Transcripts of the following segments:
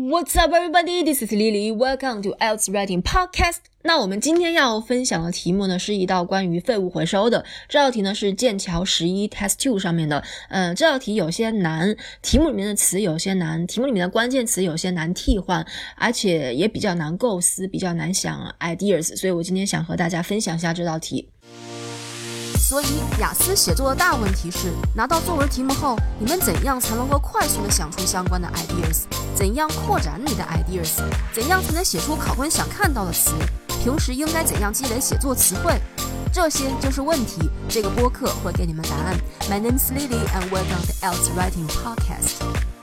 What's up, everybody? This is Lily. Welcome to IELTS Writing Podcast. 那我们今天要分享的题目呢，是一道关于废物回收的。这道题呢是剑桥11 Test 2上面的。这道题有些难，题目里面的词有些难，题目里面的关键词有些难替换，而且也比较难构思，比较难想 ideas。所以我今天想和大家分享一下这道题。 所以雅思写作的大问题是，拿到作文题目后，你们怎样才能够快速的想出相关的 ideas？ 怎样扩展你的 ideas？ 怎样才能写出考官想看到的词？平时应该怎样积累写作词汇？这些就是问题。这个播客会给你们答案。My name is Lily and welcome to IELTS Writing Podcast。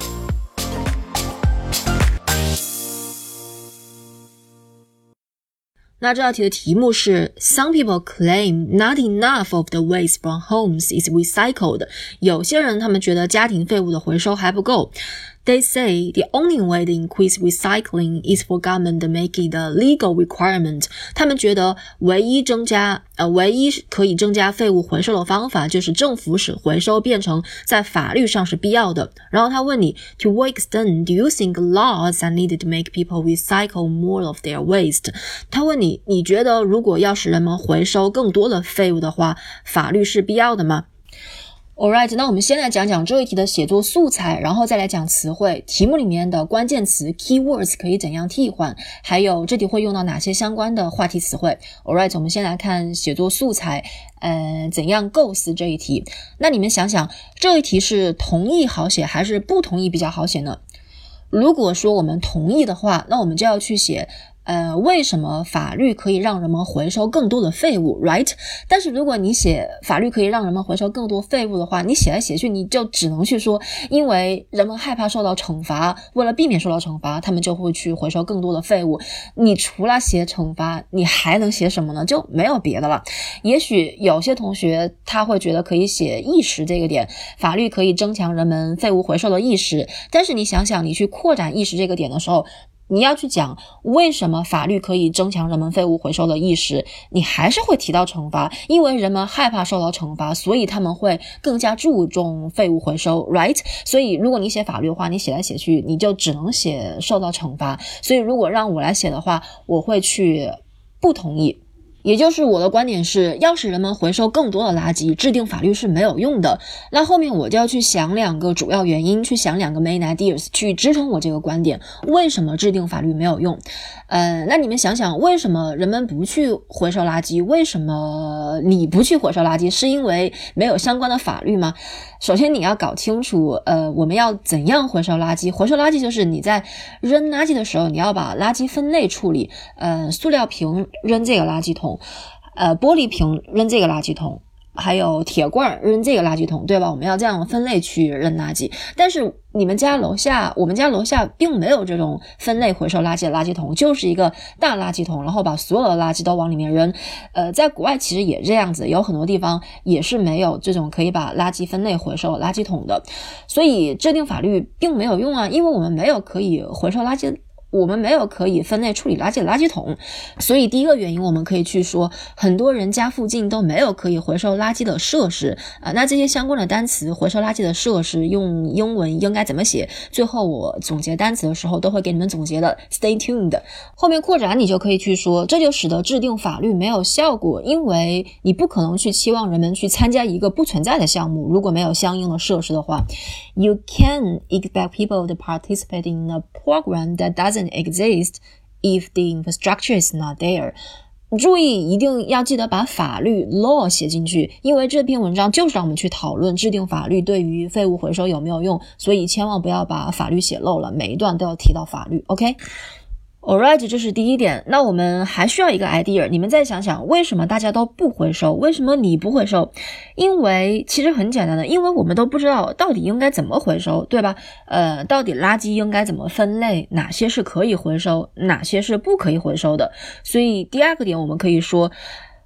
那这道题的题目是 Some people claim not enough of the waste from homes is recycled. 有些人他们觉得家庭废物的回收还不够。They say the only way to increase recycling is for government to make it a legal requirement. 他们觉得唯一可以增加废物回收的方法就是政府使回收变成在法律上是必要的。然后他问你 To what extent do you think laws are needed to make people recycle more of their waste? 他问你觉得如果要使人们回收更多的废物的话，法律是必要的吗？Alright, 那我们先来讲讲这一题的写作素材，然后再来讲词汇，题目里面的关键词 keywords 可以怎样替换，还有这题会用到哪些相关的话题词汇。Alright, 我们先来看写作素材，怎样构思这一题。那你们想想，这一题是同意好写还是不同意比较好写呢？如果说我们同意的话，那我们就要去写为什么法律可以让人们回收更多的废物 right？ 但是如果你写法律可以让人们回收更多废物的话，你写来写去你就只能去说因为人们害怕受到惩罚，为了避免受到惩罚，他们就会去回收更多的废物。你除了写惩罚你还能写什么呢？就没有别的了。也许有些同学他会觉得可以写意识这个点，法律可以增强人们废物回收的意识，但是你想想你去扩展意识这个点的时候，你要去讲为什么法律可以增强人们废物回收的意识，你还是会提到惩罚，因为人们害怕受到惩罚，所以他们会更加注重废物回收 right？ 所以如果你写法律的话，你写来写去你就只能写受到惩罚，所以如果让我来写的话，我会去不同意。也就是我的观点是，要使人们回收更多的垃圾，制定法律是没有用的。那后面我就要去想两个主要原因，去想两个 main ideas 去支撑我这个观点。为什么制定法律没有用？那你们想想，为什么人们不去回收垃圾？为什么你不去回收垃圾？是因为没有相关的法律吗？首先你要搞清楚我们要怎样回收垃圾。回收垃圾就是你在扔垃圾的时候，你要把垃圾分类处理。塑料瓶扔这个垃圾桶，玻璃瓶扔这个垃圾桶，还有铁罐扔这个垃圾桶，对吧？我们要这样分类去扔垃圾。但是我们家楼下并没有这种分类回收垃圾的垃圾桶，就是一个大垃圾桶，然后把所有的垃圾都往里面扔。在国外其实也这样子，有很多地方也是没有这种可以把垃圾分类回收垃圾桶的。所以制定法律并没有用啊，因为我们没有可以回收垃圾，我们没有可以分类处理垃圾的垃圾桶。所以第一个原因我们可以去说，很多人家附近都没有可以回收垃圾的设施。那这些相关的单词，回收垃圾的设施用英文应该怎么写，最后我总结单词的时候都会给你们总结的， Stay tuned。 后面扩展你就可以去说，这就使得制定法律没有效果，因为你不可能去期望人们去参加一个不存在的项目，如果没有相应的设施的话。 You can expect people to participate in a program that doesn't exist if the infrastructure is not there。 注意一定要记得把法律 law 写进去，因为这篇文章就是让我们去讨论制定法律对于废物回收有没有用，所以千万不要把法律写漏了，每一段都要提到法律 OK。Alright, 这是第一点。那我们还需要一个 idea， 你们再想想为什么大家都不回收，为什么你不回收？因为其实很简单的，因为我们都不知道到底应该怎么回收，对吧？到底垃圾应该怎么分类，哪些是可以回收，哪些是不可以回收的。所以第二个点我们可以说，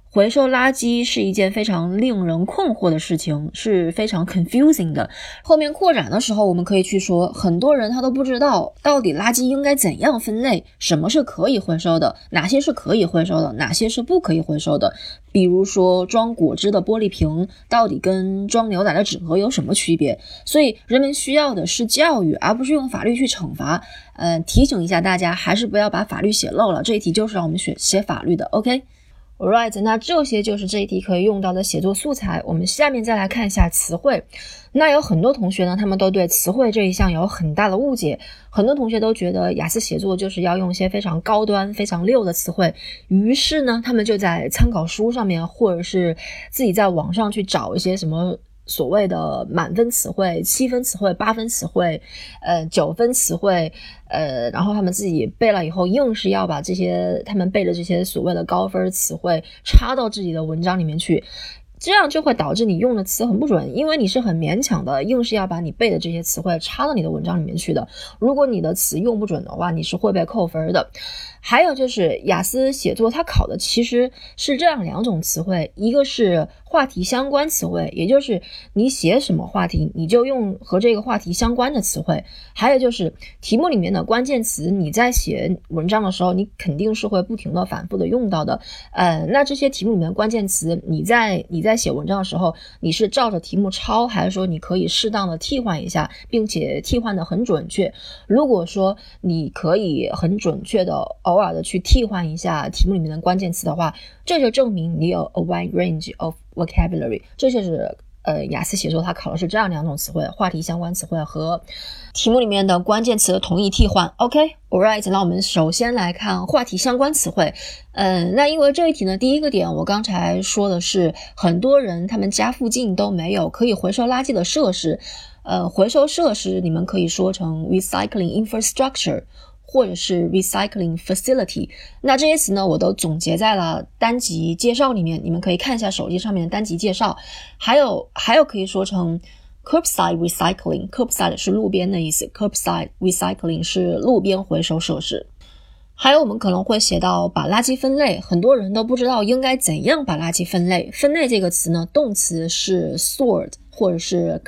回收垃圾是一件非常令人困惑的事情，是非常 confusing 的。后面扩展的时候我们可以去说，很多人他都不知道到底垃圾应该怎样分类，什么是可以回收的，哪些是可以回收的，哪些是不可以回收的。比如说装果汁的玻璃瓶到底跟装牛奶的纸盒有什么区别。所以人们需要的是教育，而不是用法律去惩罚。提醒一下大家，还是不要把法律写漏了，这一题就是让我们写法律的 OK。Alright， 那这些就是这一题可以用到的写作素材。我们下面再来看一下词汇。那有很多同学呢，他们都对词汇这一项有很大的误解。很多同学都觉得雅思写作就是要用一些非常高端、非常溜的词汇，于是呢，他们就在参考书上面，或者是自己在网上去找一些什么所谓的满分词汇、7分词汇、8分词汇、9分词汇，然后他们自己背了以后，硬是要把这些他们背的这些所谓的高分词汇插到自己的文章里面去。这样就会导致你用的词很不准，因为你是很勉强的，硬是要把你背的这些词汇插到你的文章里面去的。如果你的词用不准的话，你是会被扣分的。还有就是雅思写作它考的其实是这样2种词汇，一个是话题相关词汇，也就是你写什么话题你就用和这个话题相关的词汇。还有就是题目里面的关键词，你在写文章的时候你肯定是会不停的反复的用到的。那这些题目里面的关键词，你在写文章的时候，你是照着题目抄，还是说你可以适当的替换一下，并且替换的很准确？如果说你可以很准确的偶尔的去替换一下题目里面的关键词的话，这就证明你有 a wide range of vocabulary。 这就是雅思写作它考的是这样2种词汇，话题相关词汇和题目里面的关键词的同义替换。 OK Alright， 那我们首先来看话题相关词汇。那因为这一题呢，第一个点我刚才说的是很多人他们家附近都没有可以回收垃圾的设施。回收设施你们可以说成 recycling infrastructure 或者是 recycling facility。 那这些词呢我都总结在了单集介绍里面，你们可以看一下手机上面的单集介绍。还有可以说成 curbside recycling， curbside 是路边的意思， curbside recycling 是路边回收设施。还有我们可能会写到把垃圾分类，很多人都不知道应该怎样把垃圾分类。分类这个词呢，动词是 sort 或者是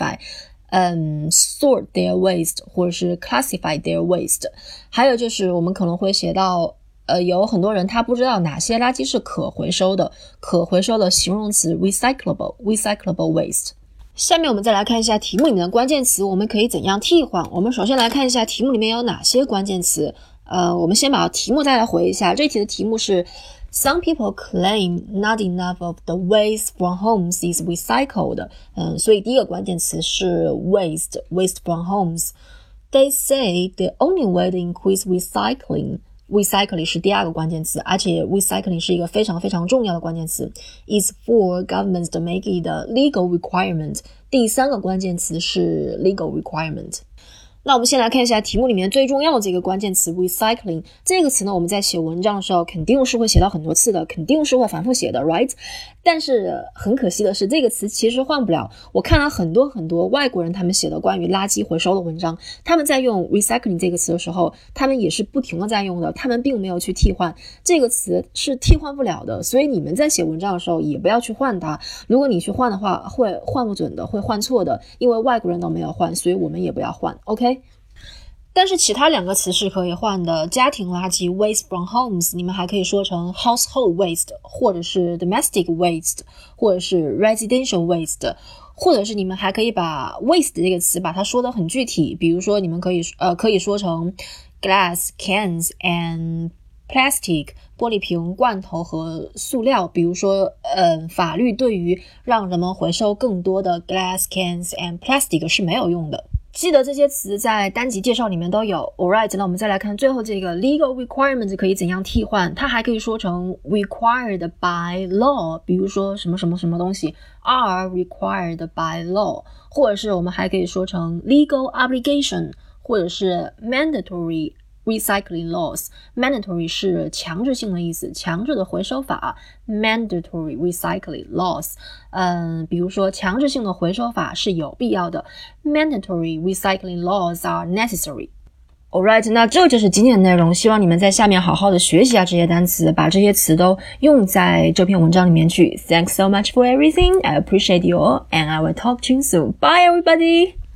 classify，sort their waste 或者是 classify their waste。 还有就是我们可能会写到有很多人他不知道哪些垃圾是可回收的，可回收的形容词 recyclable waste。 下面我们再来看一下题目里面的关键词，我们可以怎样替换。我们首先来看一下题目里面有哪些关键词。我们先把题目再来回一下。这题的题目是 Some people claim not enough of the waste from homes is recycled。 所以第一个关键词是 waste from homes。 They say the only way to increase recycling是第二个关键词，而且 recycling 是一个非常非常重要的关键词， is for governments to make it a legal requirement。 第三个关键词是 legal requirement。那我们先来看一下题目里面最重要的这个关键词 recycling。 这个词呢我们在写文章的时候肯定是会写到很多次的，肯定是会反复写的 right。 但是很可惜的是这个词其实换不了。我看了很多外国人他们写的关于垃圾回收的文章，他们在用 recycling 这个词的时候，他们也是不停的在用的，他们并没有去替换。这个词是替换不了的，所以你们在写文章的时候也不要去换它。如果你去换的话会换不准的，会换错的，因为外国人都没有换，所以我们也不要换 OK。但是其他2个词是可以换的，家庭垃圾 waste from homes 你们还可以说成 household waste 或者是 domestic waste 或者是 residential waste， 或者是你们还可以把 waste 这个词把它说得很具体，比如说你们可以说成 glass cans and plastic 玻璃瓶罐头和塑料。比如说法律对于让人们回收更多的 glass cans and plastic 是没有用的。记得这些词在单集介绍里面都有。 Alright， 那我们再来看最后这个 legal requirements 可以怎样替换。它还可以说成 required by law， 比如说什么什么什么东西 are required by law， 或者是我们还可以说成 legal obligation， 或者是 mandatory recycling laws。 mandatory 是强制性的意思，强制的回收法 mandatory recycling laws。 比如说强制性的回收法是有必要的， mandatory recycling laws are necessary。 Alright， 那这就是今天的内容，希望你们在下面好好的学习一下这些单词，把这些词都用在这篇文章里面去。Thanks so much for everything. I appreciate you all, and I will talk to you soon. Bye, everybody!